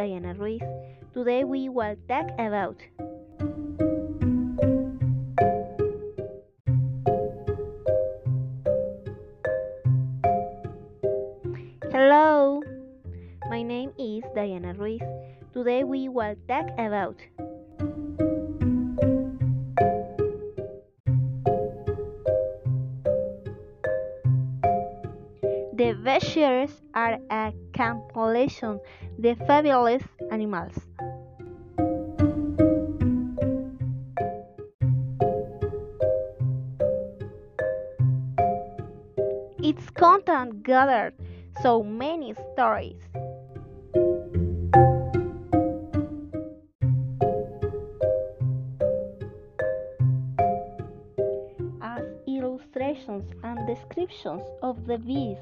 Diana Ruiz. Today we will talk about Hello, my name is Diana Ruiz. Today we will talk about The Bears are a compilation of fabulous animals. Its content gathered so many stories. As illustrations and descriptions of the bees.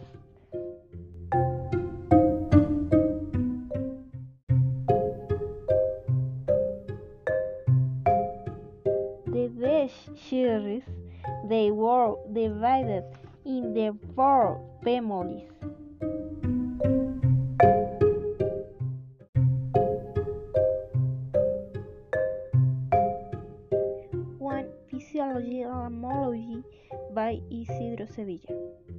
The Bears series, they were divided in the four families. One Physiology and Homology by Isidro Sevilla.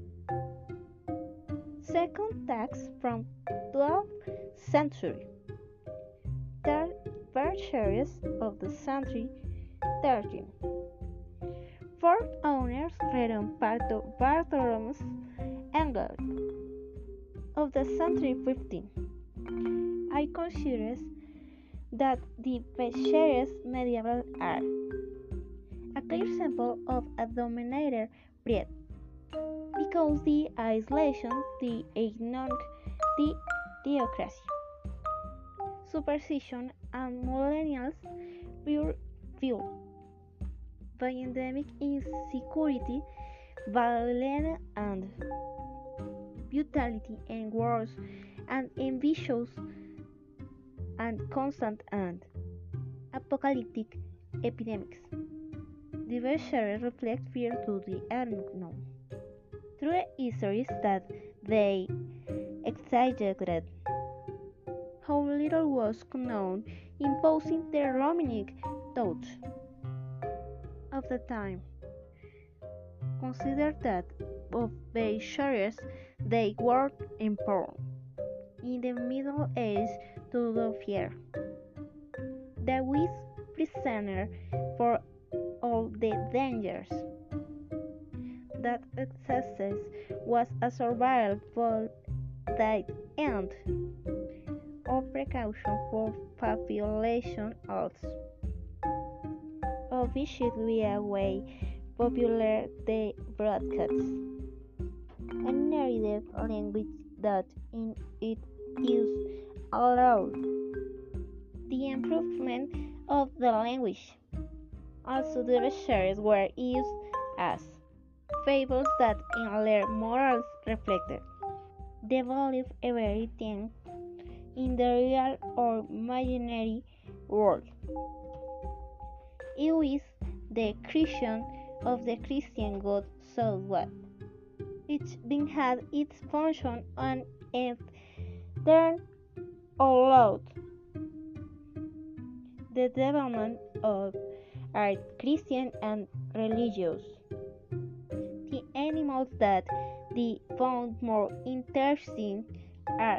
Second text from 12th century. Third bird series of the century 13. Fourth owners written by Bartholomew Engel of the century 15. I consider that the Bears medieval are a clear example of a dominator breed, because the isolation, the ignorance, the theocracy, superstition, and millennials pure fuel by endemic insecurity, violence, and brutality, and wars, and ambitious, and constant, and apocalyptic epidemics. The Bears reflect fear to the unknown. True histories that they exaggerated how little was known, imposing the Romanic touch of the time. Consider that of Bears they were important in the Middle Ages to the fear. The with prisoner for all the dangers that existed was a survival that end of precaution for population also. Obviously a way popular the broadcasts. A narrative language that in it is allowed the improvement of the language. Also the Bears were used as fables that in their morals reflected the value of everything in the real or imaginary world. It is the creation of the Christian God so what? Each being had its function on it turned allowed the development of art, Christian and religious. The animals that they found more interesting are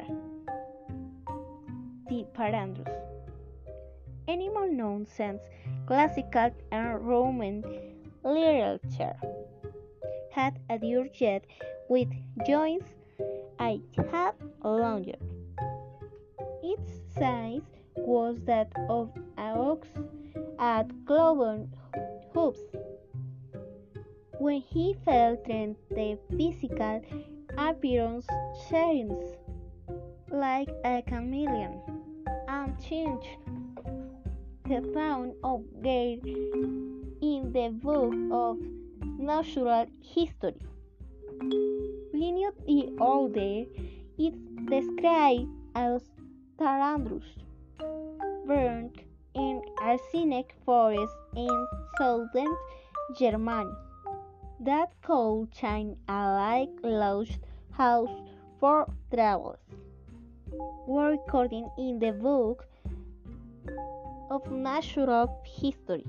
the parandros, animal known since classical and Roman literature, had a jet with joints I had longer. Its size was that of an ox at cloven hooves. When he fell trained the physical appearance changed like a chameleon and changed the fauna of Gair in the book of natural history. Pliny the Older is described as tarandrus, burned in arsenic forest in southern Germany, that could shine a like lost house for travelers. were recorded in the book of natural history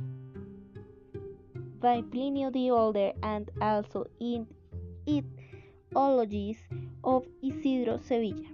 by Pliny the Elder and also in Ethologies of Isidro Sevilla.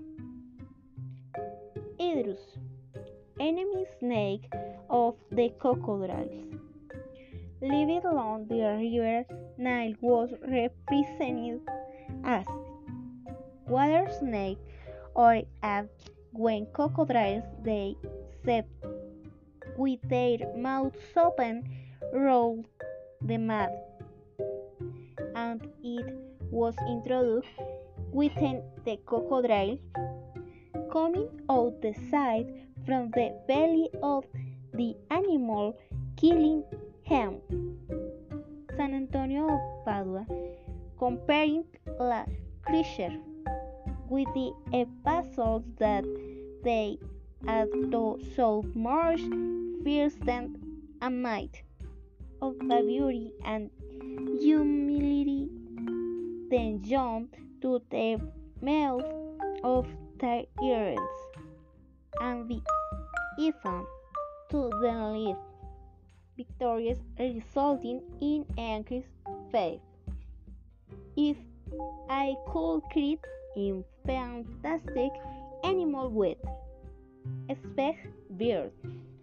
Idrus, enemy snake of the crocodiles. Living along the river Nile was represented as water snake or as when crocodiles they set with their mouths open rolled the mud, and it was introduced within the crocodile, coming out the side from the belly of the animal, killing him. San Antonio of Padua, comparing the creature with the epistles that they had to so much fierce and might of the beauty and humility, then jumped to the mouth of tyrants and the Ethan to the lead, victorious, resulting in increased faith. If I could create in fantastic animal with expect bird,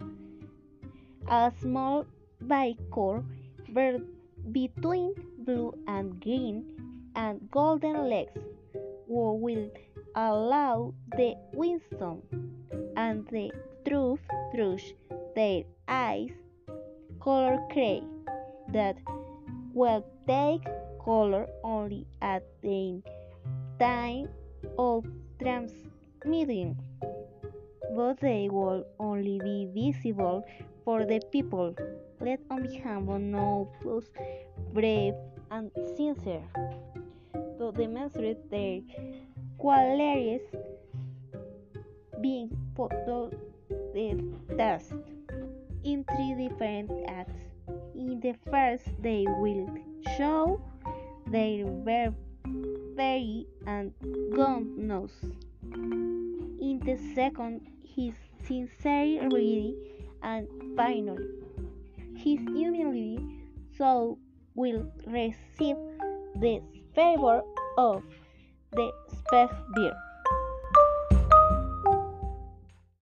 a small bicorn bird between blue and green and golden legs, who will allow the wisdom and the truth through their eyes, color gray, that will take color only at the time of transmitting, but they will only be visible for the people. Let on be humble, noble, brave, and sincere, to demonstrate their qualities, being put to the test in three different acts. In the first, they will show their very and godness. In the second, his sincerity, and finally, his humility, so will receive the favor of the Specht